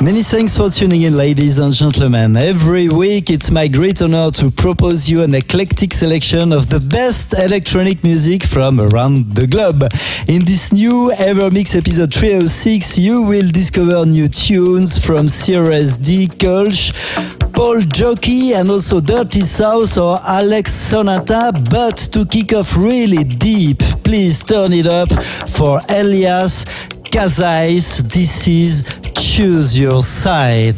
Many thanks for tuning in, ladies and gentlemen. Every week, it's my great honor to propose you an eclectic selection of the best electronic music from around the globe. In this new Evermix episode 306, you will discover new tunes from Cirez D, Kulch, Paul Jockey, and also Dirty South or Alex Sonata. But to kick off really deep, please turn it up for Elias Kazais. This is Choose Your Side.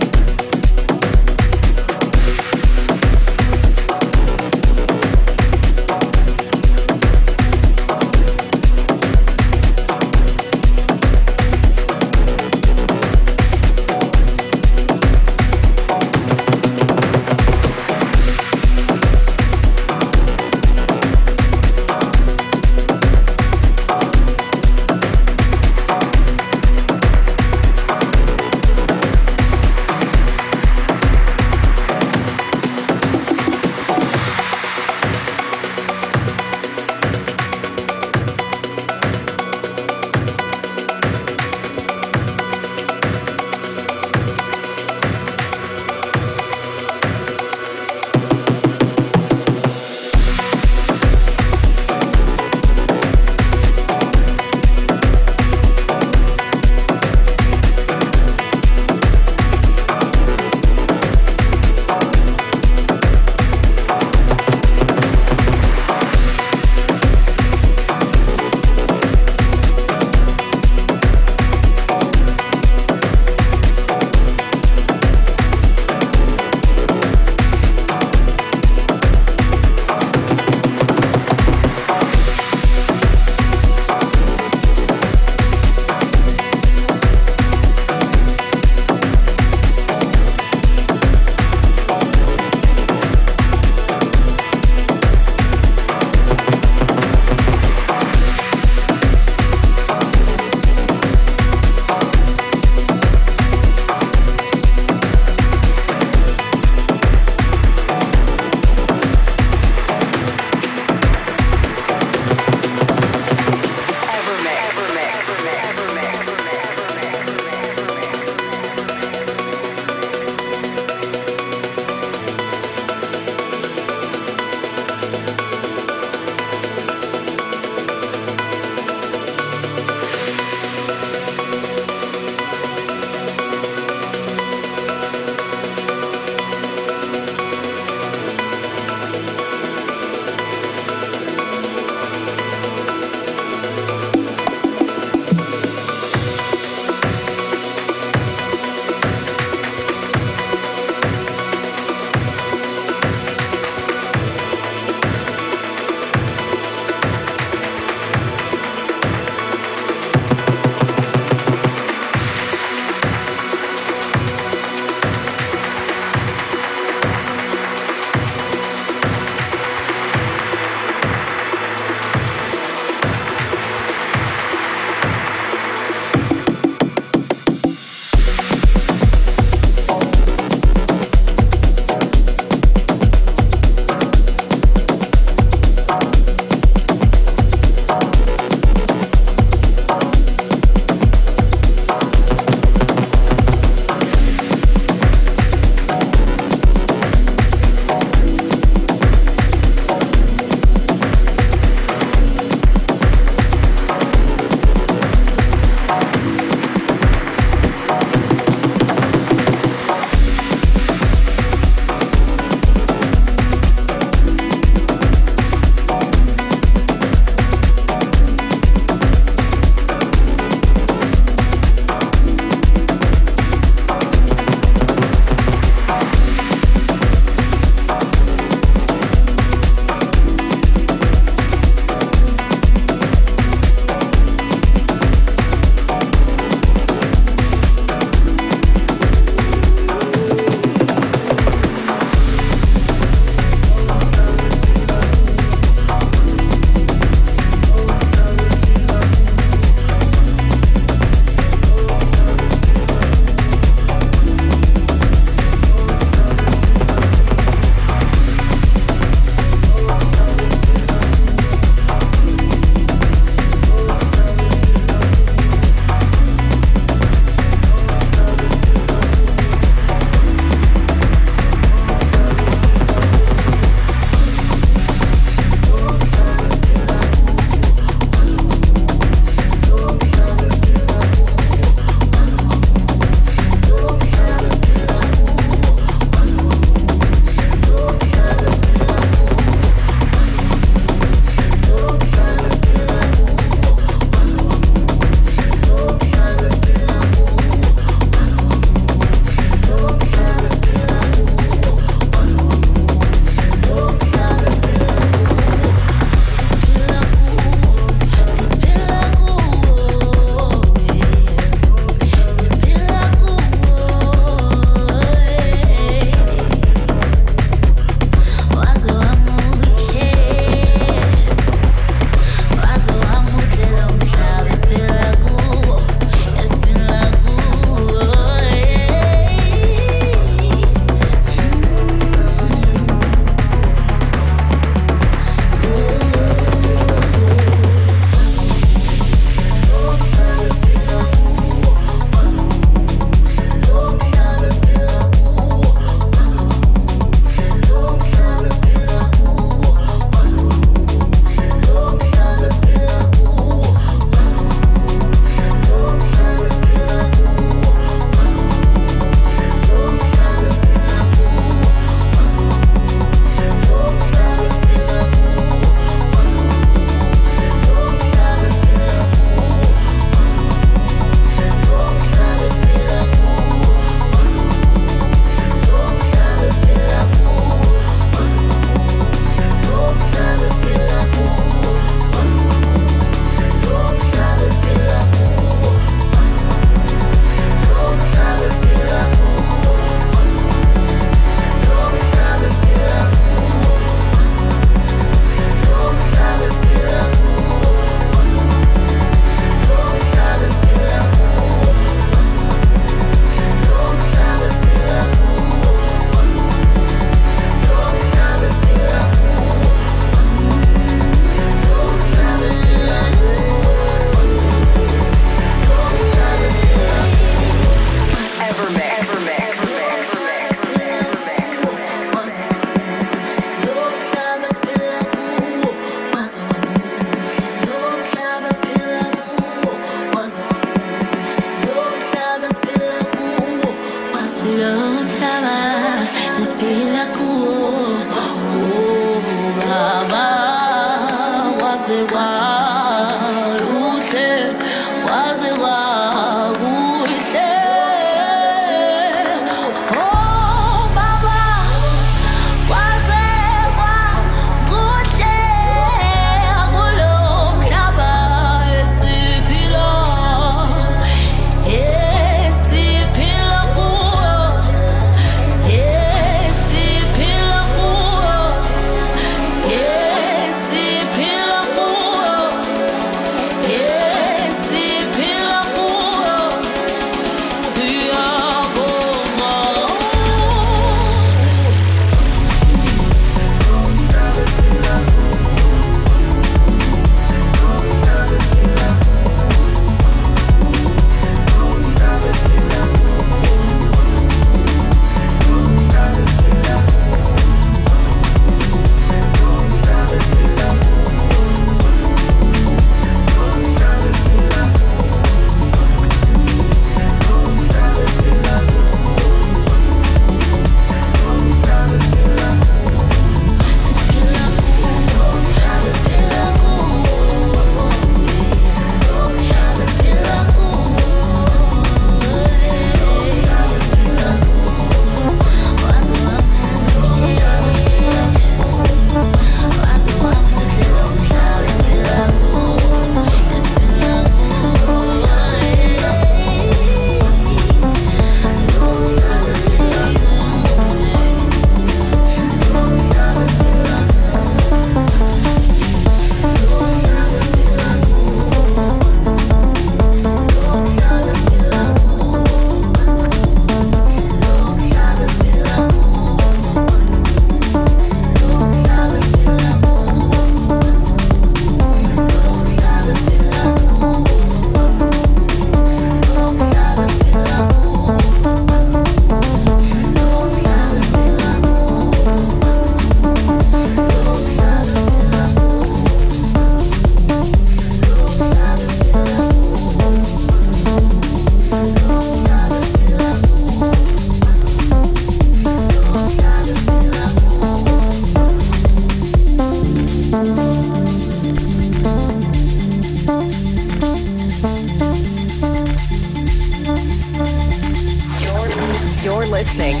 listening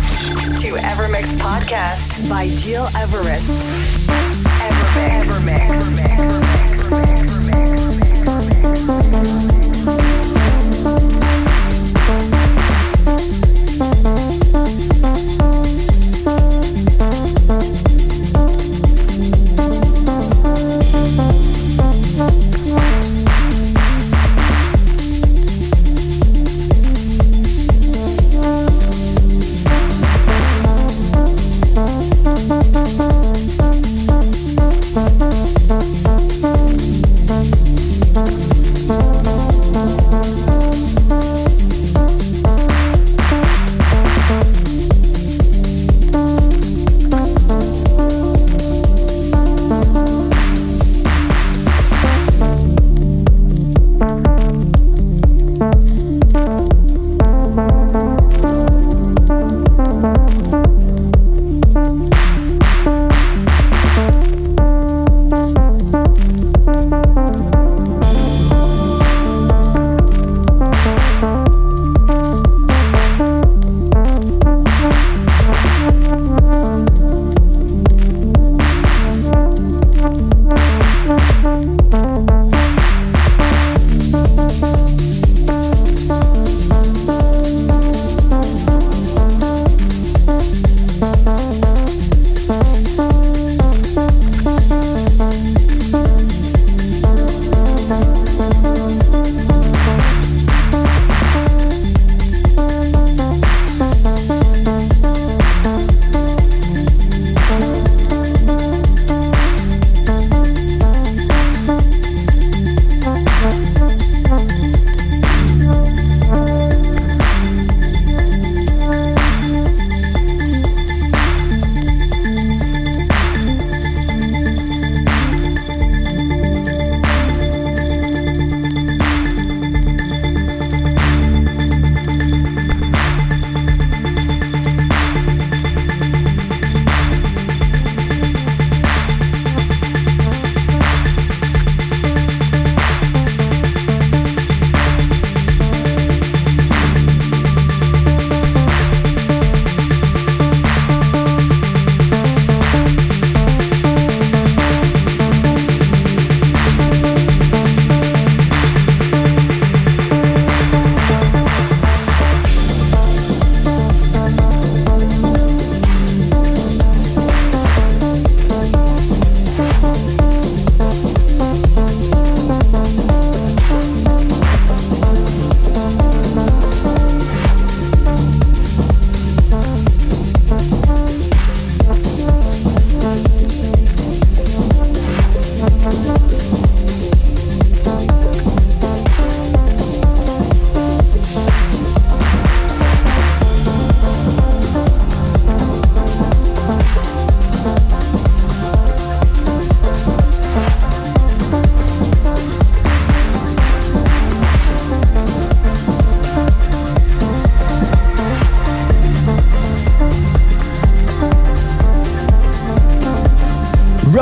to Evermix Podcast by Gil Everest. Evermix.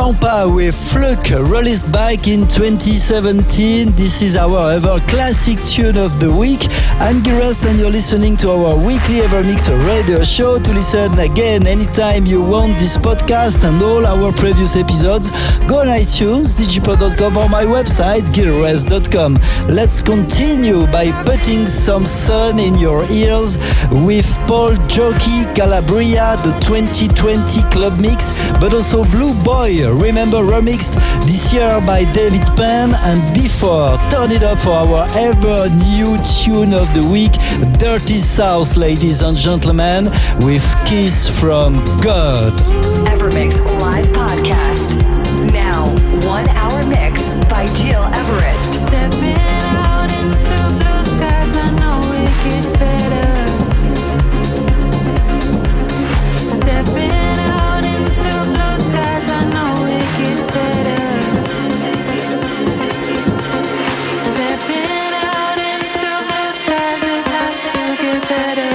Lampa with Fluke, released back in 2017. This is our ever classic tune of the week. I'm Gilrest and you're listening to our weekly Evermix radio show. To listen again anytime you want this podcast and all our previous episodes, go on iTunes, digipod.com or my website, gilrest.com. Let's continue by putting some sun in your ears with Paul Jockey Calabria, the 2020 club mix, but also Blue Boy, remember, remixed this year by David Penn, and before, turn it up for our ever new tune of the week, Dirty South, ladies and gentlemen, with Kiss from God. Evermix Live Podcast. Now, 1 hour mix by Gil Everest. Stepping out into blue skies, I know it gets better. Stepping out into blue skies, I know it gets better. Stepping out into blue skies, it has to get better.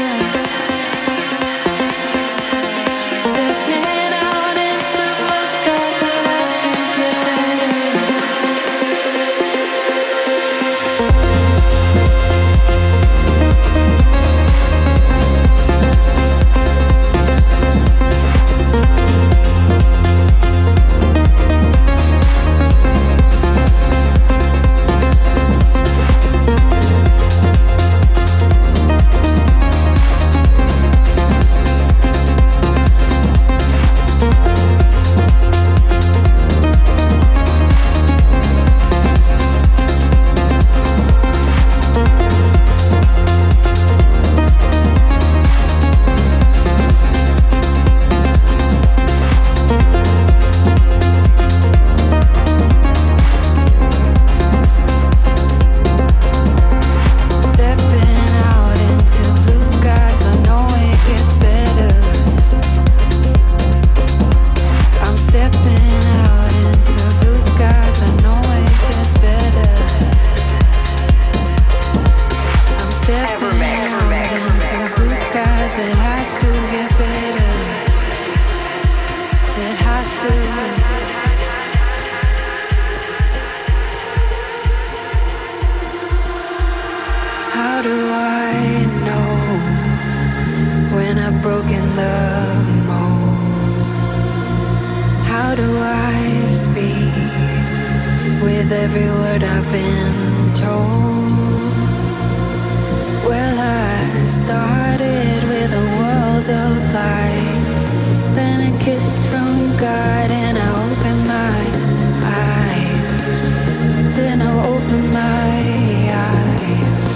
Stepping out into blue skies, it has to get better. How do I know when I've broken the mold? How do I speak with every word I've been told? Well, I started with a world of lies, then a kiss from God, and I opened my eyes. Then I opened my eyes.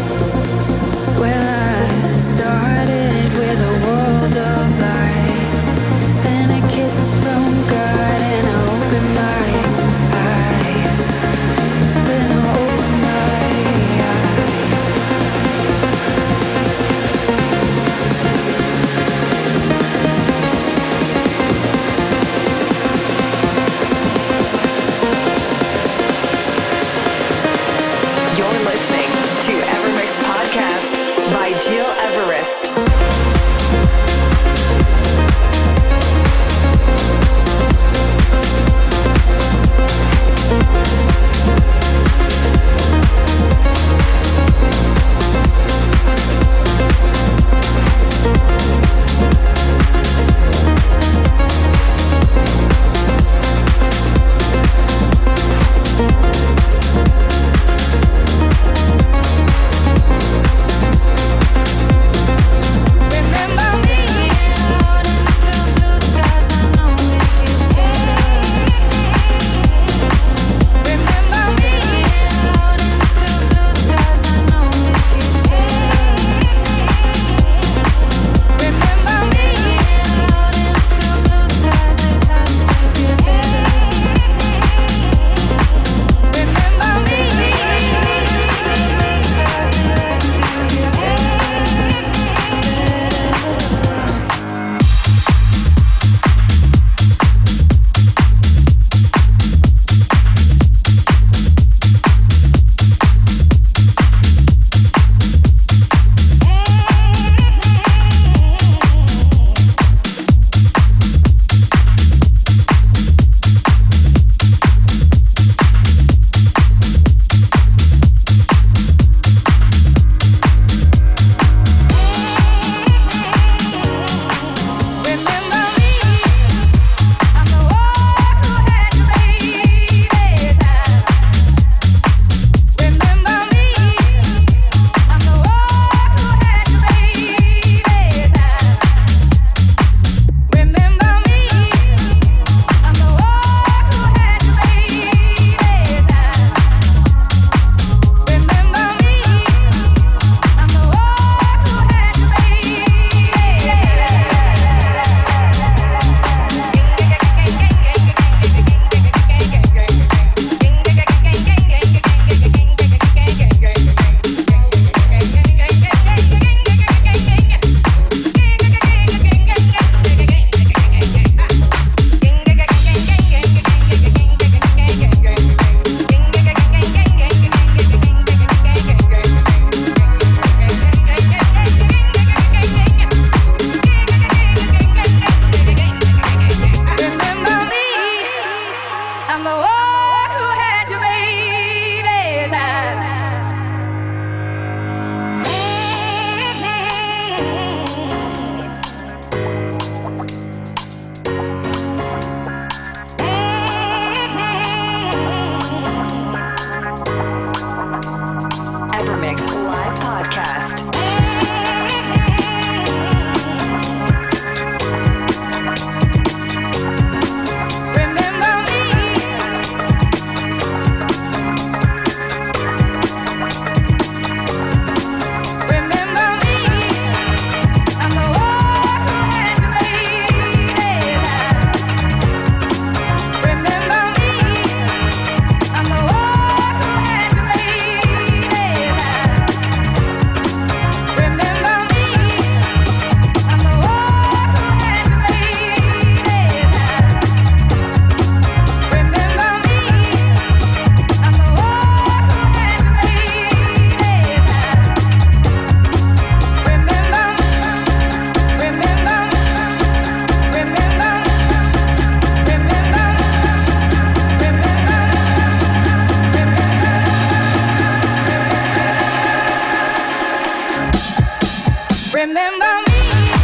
Well, I started with a world of lies, then a kiss from God, and I opened my eyes. Then I opened my eyes. You're listening to Evermix Podcast by Gil Everest. Remember me.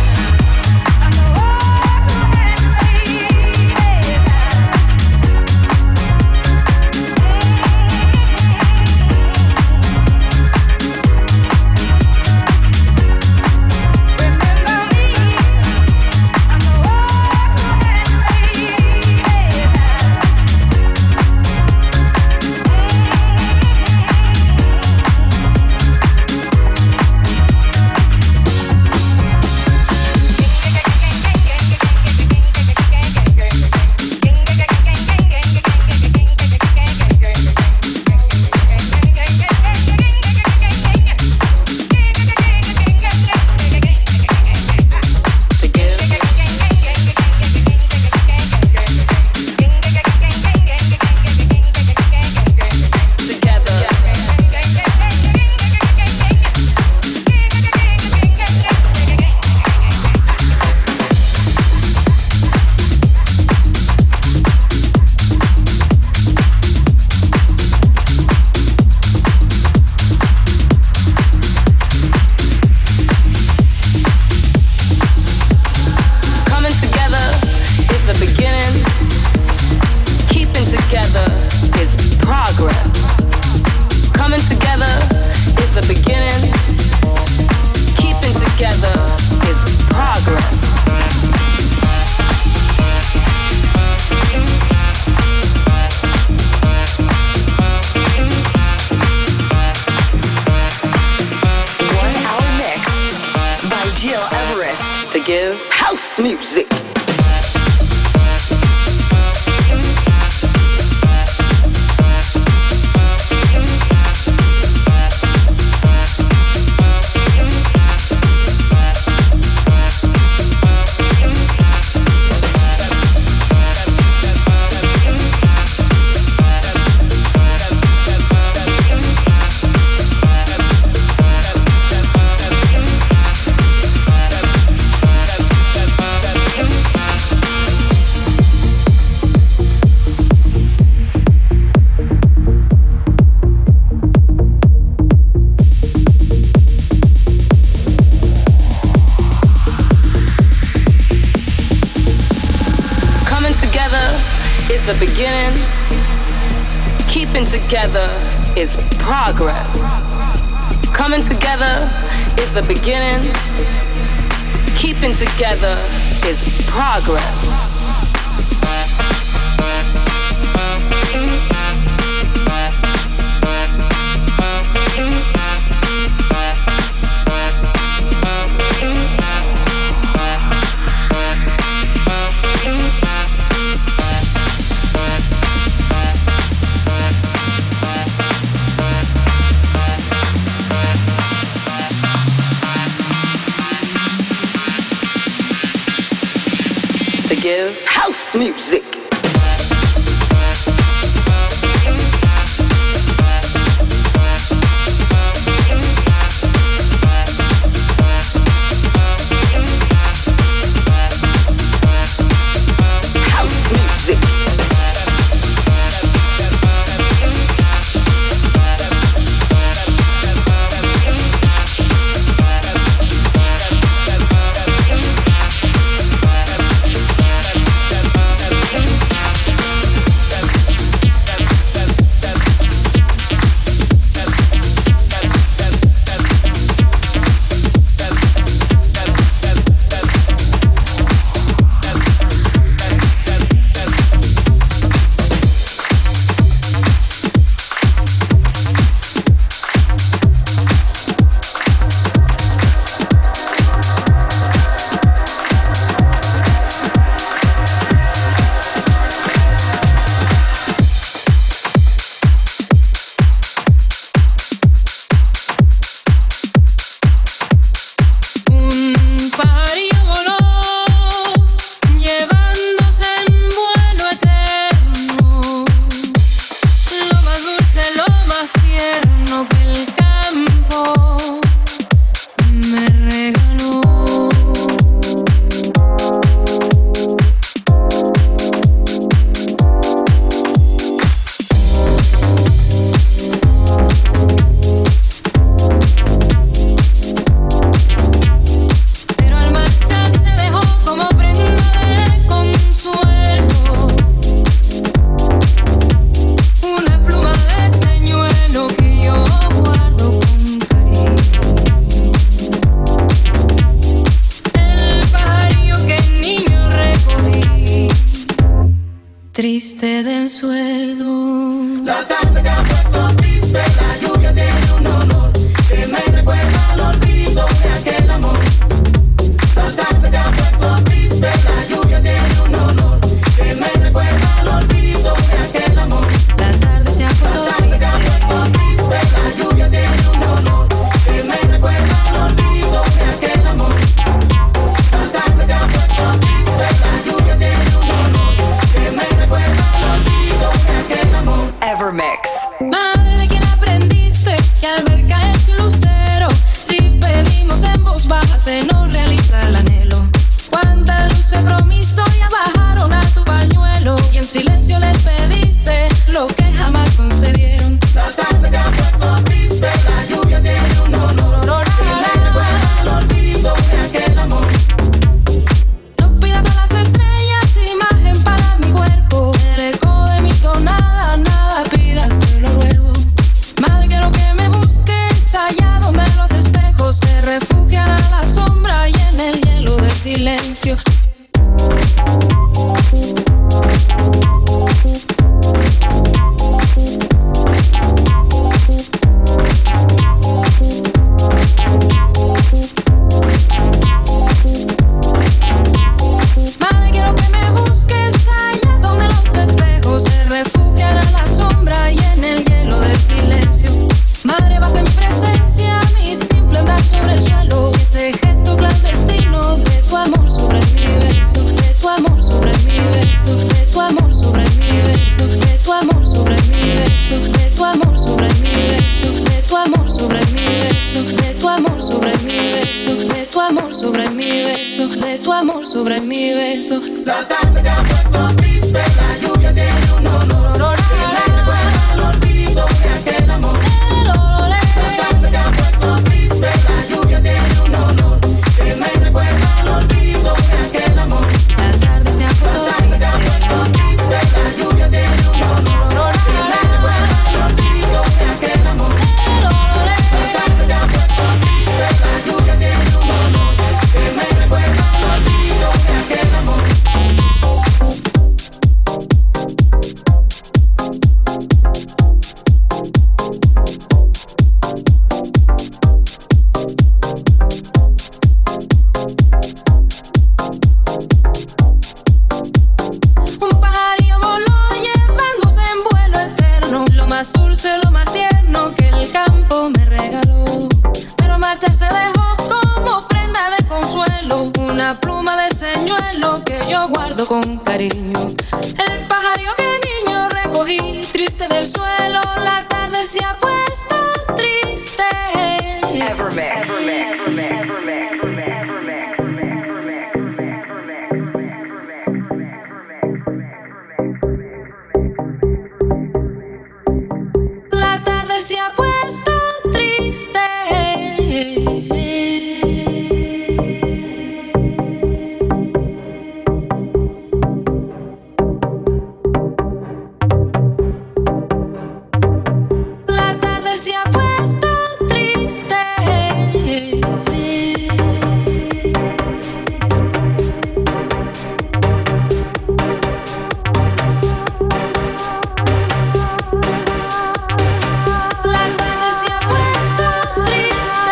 House music. The beginning, keeping together is progress. Coming together is the beginning, keeping together is progress. House music. triste del suelo. La tarde se ha puesto triste, la lluvia tiene un olor que me recuerda al olvido de aquel amor. La tarde se ha puesto triste, la lluvia tiene un olor que me recuerda al olvido de aquel amor. La tarde se ha puesto triste, la lluvia tiene un olor que me recuerda al olvido de aquel amor. La tarde se ha puesto triste, la lluvia tiene un olor que me recuerda al olvido de aquel amor. Evermix. madre de quien aprendiste que al ver caer su lucero, si pedimos en voz baja se nos realiza el anhelo. Cuántas luces promisorias bajaron a tu pañuelo y en silencio les pediste lo que jamás concedieron. La tarde se ha puesto triste, la lluvia tiene un olor que me recuerda al olvido de aquel amor. No pidas a las estrellas imagen para mi cuerpo, el eco de mi tonada, nada pidas, te lo ruego. Madre, quiero que me busques allá donde los espejos se refugian a la sombra y en el hielo del silencio. Madre, quiero que me busques allá donde los espejos se refugian a la sombra y en el hielo del silencio. Madre, bajo en mi presencia, mi simple andar sobre el suelo, ese gesto clandestino de tu amor sobre mi beso, de tu amor sobre mi beso, de tu amor sobre mi beso, de tu amor sobre mi beso, de tu amor sobre mi beso, de tu amor sobre mi beso, de tu amor sobre mi beso, de tu amor sobre mi beso, de tu amor sobre mi beso. La tarde se ha puesto triste, la lluvia tiene un olor que me recuerda al olvido de aquel amor. La tarde se ha puesto triste, la lluvia tiene un olor que me recuerda al olvido de aquel amor. La tarde se ha puesto triste, la lluvia tiene un olor que me recuerda al olvido de aquel amor. La tarde se ha puesto triste, la lluvia tiene un olor que me recuerda al olvido de aquel amor. Un pajarillo voló llevándose en vuelo eterno lo más dulce, lo más tierno que el campo me regaló. Pero marcharse dejó como prenda de consuelo una pluma de señuelo que yo guardo con cariño. El pajarillo que niño recogí triste del suelo, la tarde se ha puesto triste. Evermix. La tarde se ha puesto triste. La tarde se ha puesto triste. La tarde se ha puesto triste.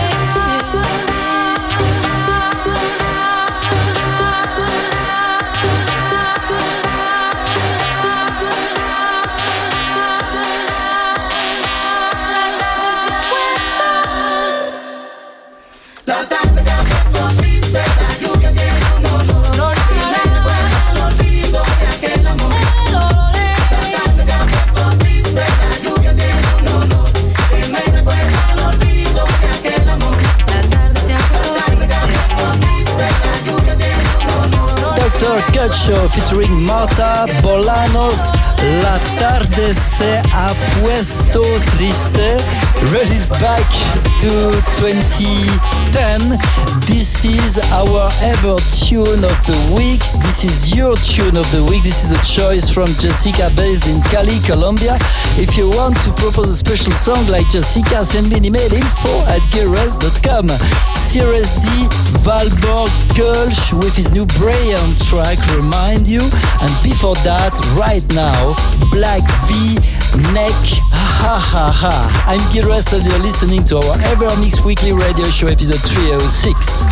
La tarde se ha puesto triste, la lluvia tiene un olor que me recuerda al olvido de aquel amor. La tarde se ha puesto triste, la lluvia tiene un olor que me recuerda al olvido de aquel amor. La tarde se ha La tarde se ha puesto puesto triste, la lluvia tiene un olor. Dr. Cut Show featuring Marta Bolanos. La tarde se ha puesto triste. Released back to 2010. This is our ever tune of the week. This is your tune of the week. This is a choice from Jessica based in Cali, Colombia. If you want to propose a special song like Jessica, send me an email info@gearres.com. CRSD, Valborg Kölsch with his new brilliant track Remind You, and before that, right now, Black V, Neck, Ha Ha Ha. I'm Gil Rest and you're listening to our EverMix Weekly Radio Show episode 306.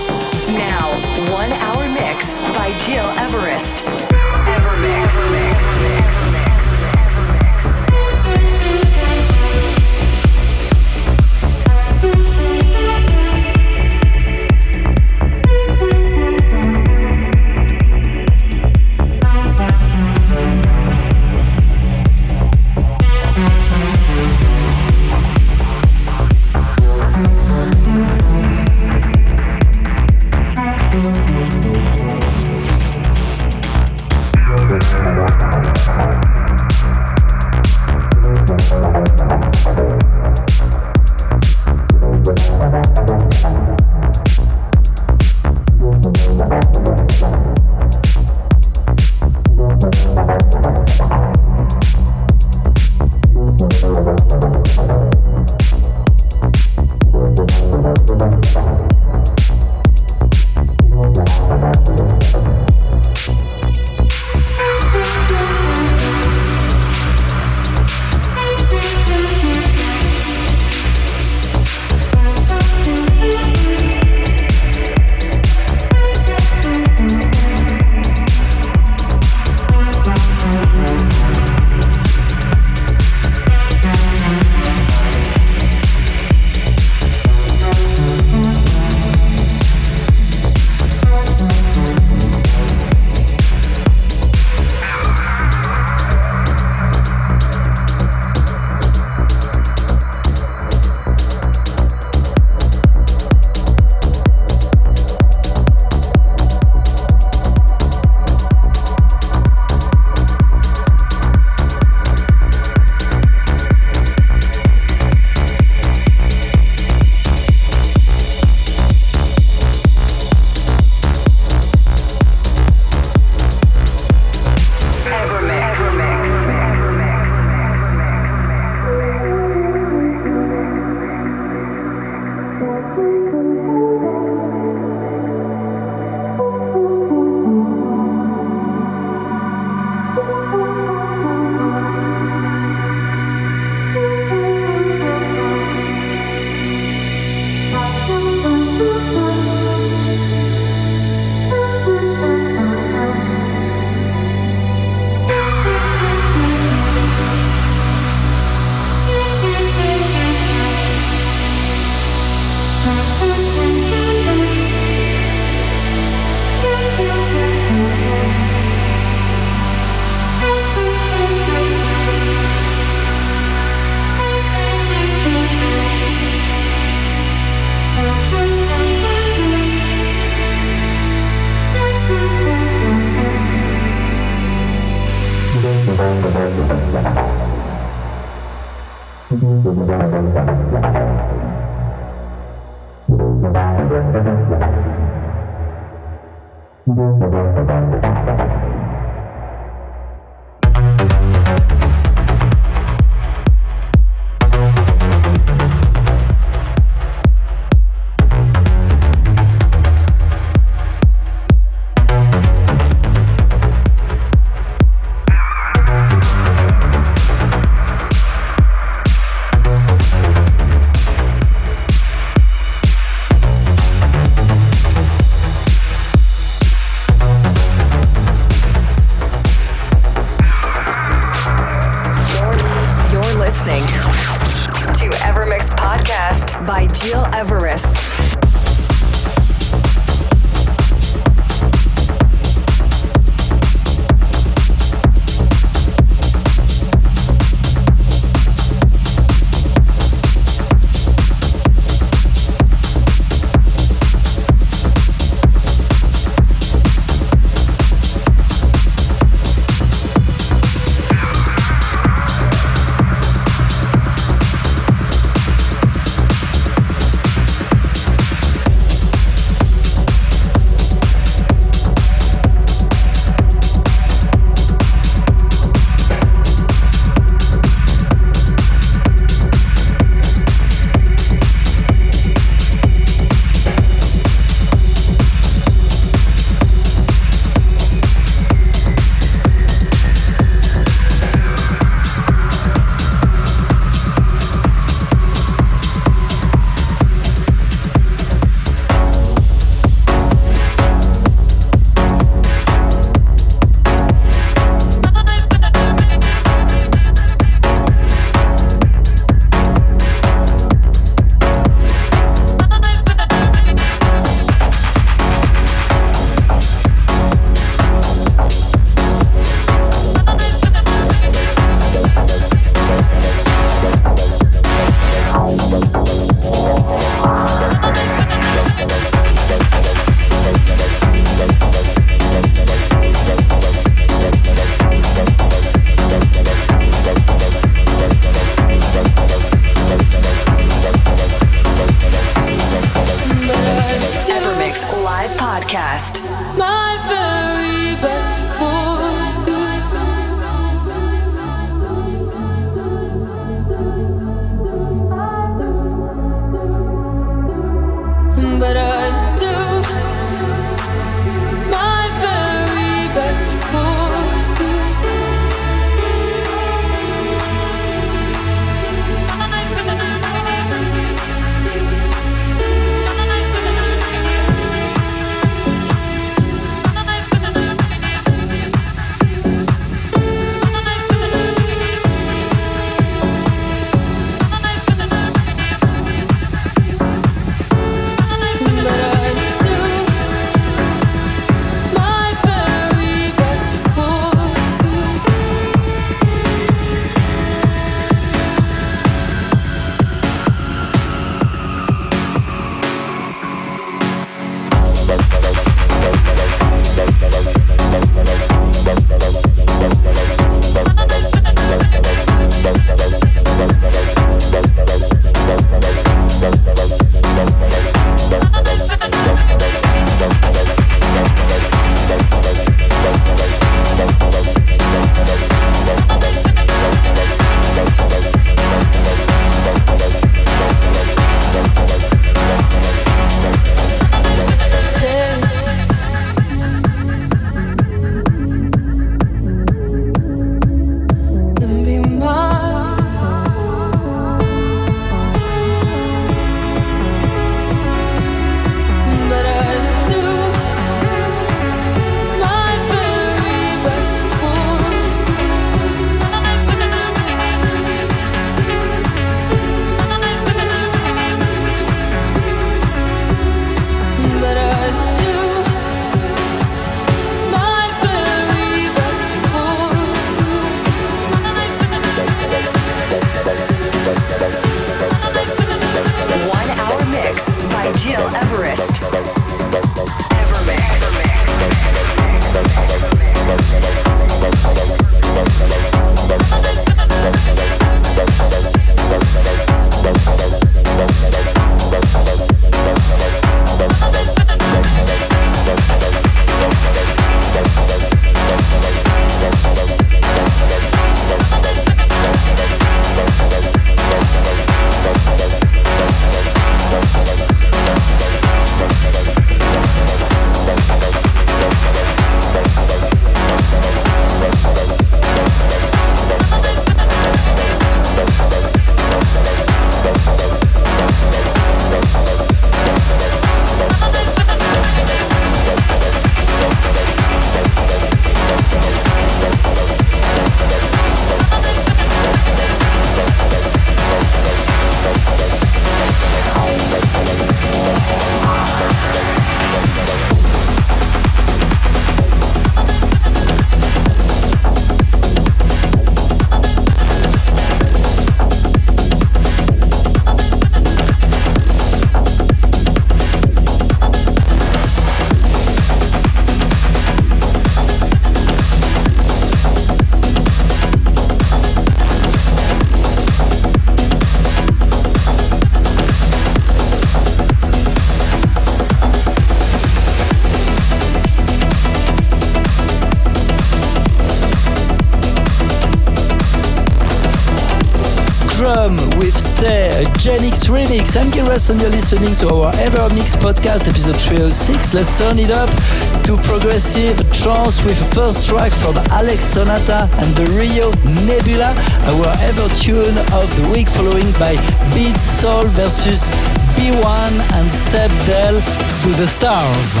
Problem with Stay, a Genix remix. I'm Giras and you're listening to our Evermix podcast, episode 306. Let's turn it up to progressive trance with a first track from Alex Sonata and the Rio Nebula, our ever tune of the week, following by Beat Soul versus B1 and Seb Del, To the Stars.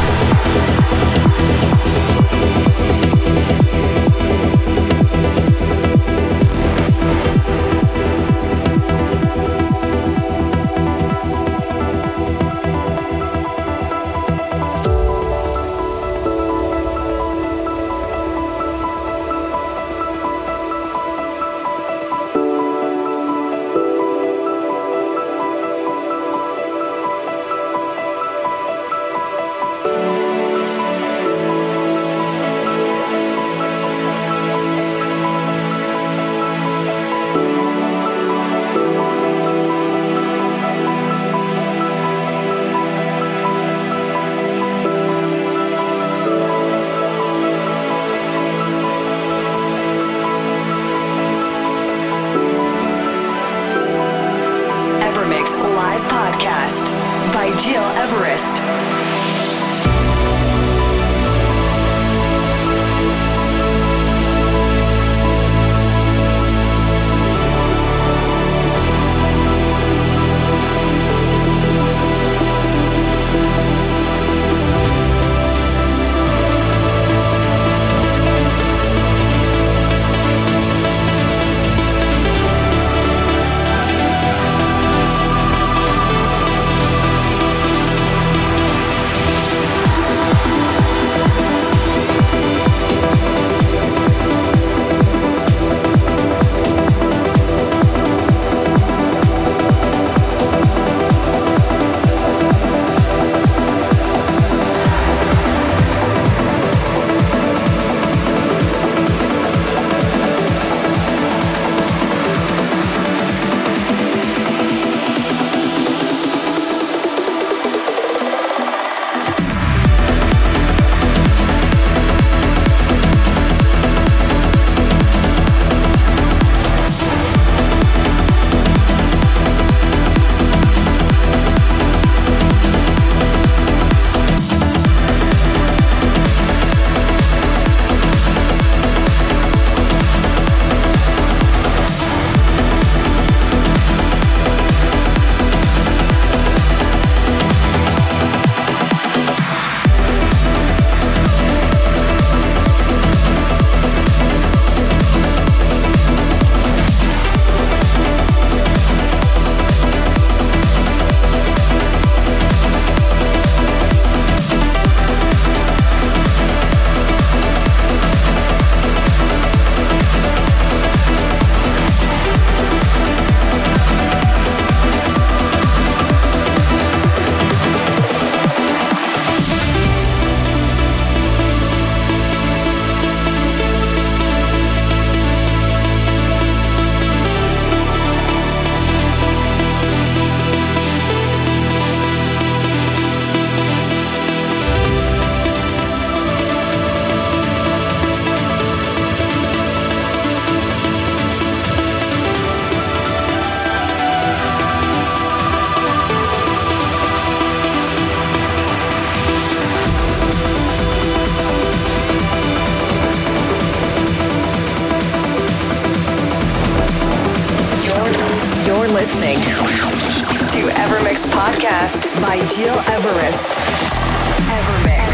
Live podcast by Gil Everest. Listening to Evermix podcast by Gil Everest. Evermix.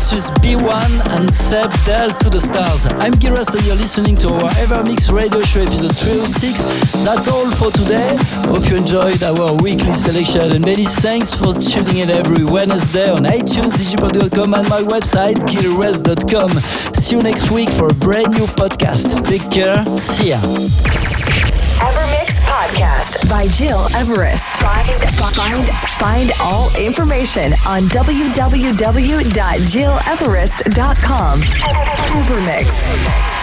versus B1 and Seb Del to the Stars. I'm Giras and you're listening to our Evermix radio show episode 306. That's all for today. Hope you enjoyed our weekly selection and many thanks for tuning in every Wednesday on iTunes, digipod.com and my website, gilres.com. See you next week for a brand new podcast. Take care. See ya. Evermix Podcast by Gil Everest. Find all information on www.gileverest.com. Evermix.